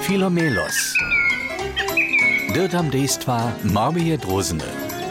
Filomelos. Dirtam dejstva Marmije Drozene.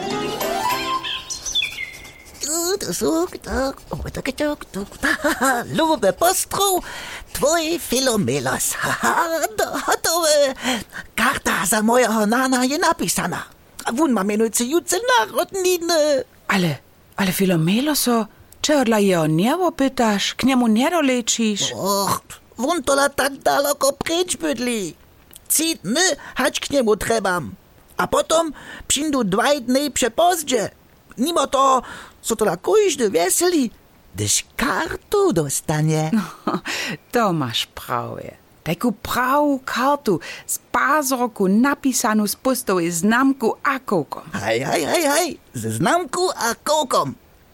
Lube postrov, tvoj Filomelos. Hotowe. Karta za mojego nana je napisana. Wun ma menujúce narodniny. Ale Filomeloso, čo dla jeho niebo pytaš, k njemu nedolečíš? Wun tola tak daleko preč bydlí. 3 dny hać k niemu trebam. A potom přijdu 2 dny przepozdźe. Mimo toho, co tola kujždy veseli, gdyż kartu dostanie. To masz prawie. Taką prawą kartu z pazroku napisanu z pustowej znamku a kołkom. Hej, ze znamku a kołkom.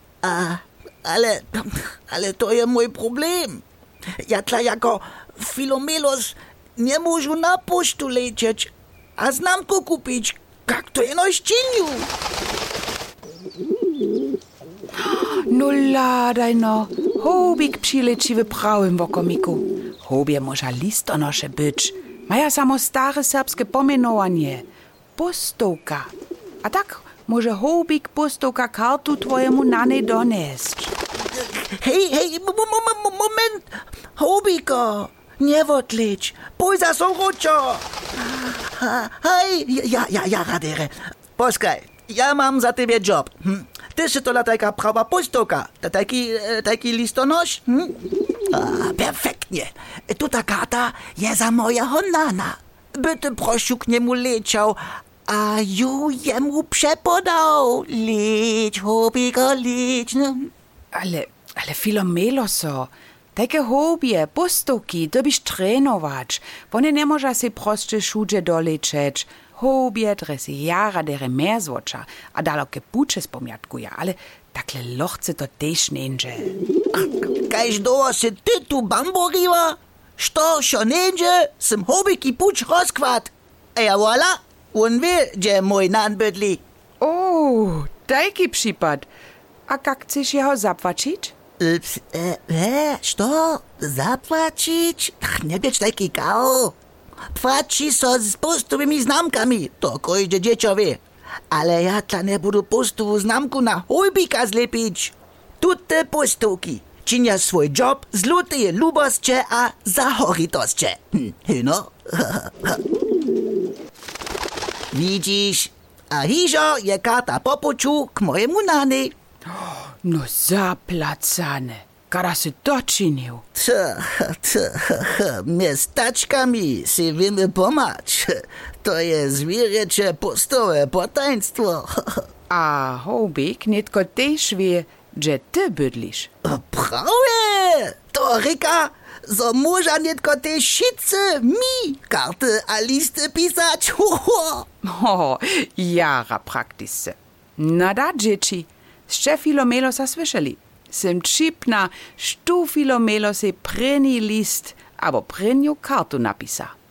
Ale to je mój problem. Ja tla jako Filomelos nie môžu na poštu lecieć, a znamku kupić, jak to jeno ščinju. No ladaj no, hobik přilečí v prawym wokomiku. Hobie może listonosze być. Maja samo stare serbskie pomenowanie. Postovka. A tak może hobik postovka kartu twojemu nanej donesť. Hej, moment. Hobiko, nie odlič. Pój za soručo. Hej, ja radere. Poskaj, ja mam za tebe job. Ty si tola taka prawa postovka. Taki listonoš? Perfektnie. Tuta karta je za mojego nana. Byty prosił k niemu leciał, a ju jemu przepodał. Lecz, hobiko, lecz. Ale Filomeloso, takie hobie, postovki, to byś trenować. One nie może si proste šuđe dolečeć. Hobie dresy jara dere merzwocza, a daloke puče spomjatkuja, ale takle lochce to tež neńdže. Kajž doło si ty tu bamboriła? Što šo neńdže, sem hobiki puč rozkvat. Ja voila, on wie, gdzie mój nan bydli. O, taki przypad. A jak chcesz jeho zapłacić? Što? Zapłacić? Nie być taki gao. Płaci so z postowymi znamkami, to kojde dziecko wie. Ale ja tla nie budu postovú znamku na hojbika zlepić. Tute postovki činia svoj job z luteje lubosće a zahoritosće. No? Widzisz, a hižo je karta popuču k mojemu nani. No zaplacane, kada si to činil? Miestačkami si wiemy pomać. To je zwierzęcze postowe potaństwo. A hobik netko tež wie, že ty bydliš. Prawie! To reka, zo môža netko te šice mi karty a listy pisać. Jara praktisce. Na da, dzieci, še Filomelosa słyszeli. Sem čipna, što Filomelos je preni list, abo prenju kartu napisa.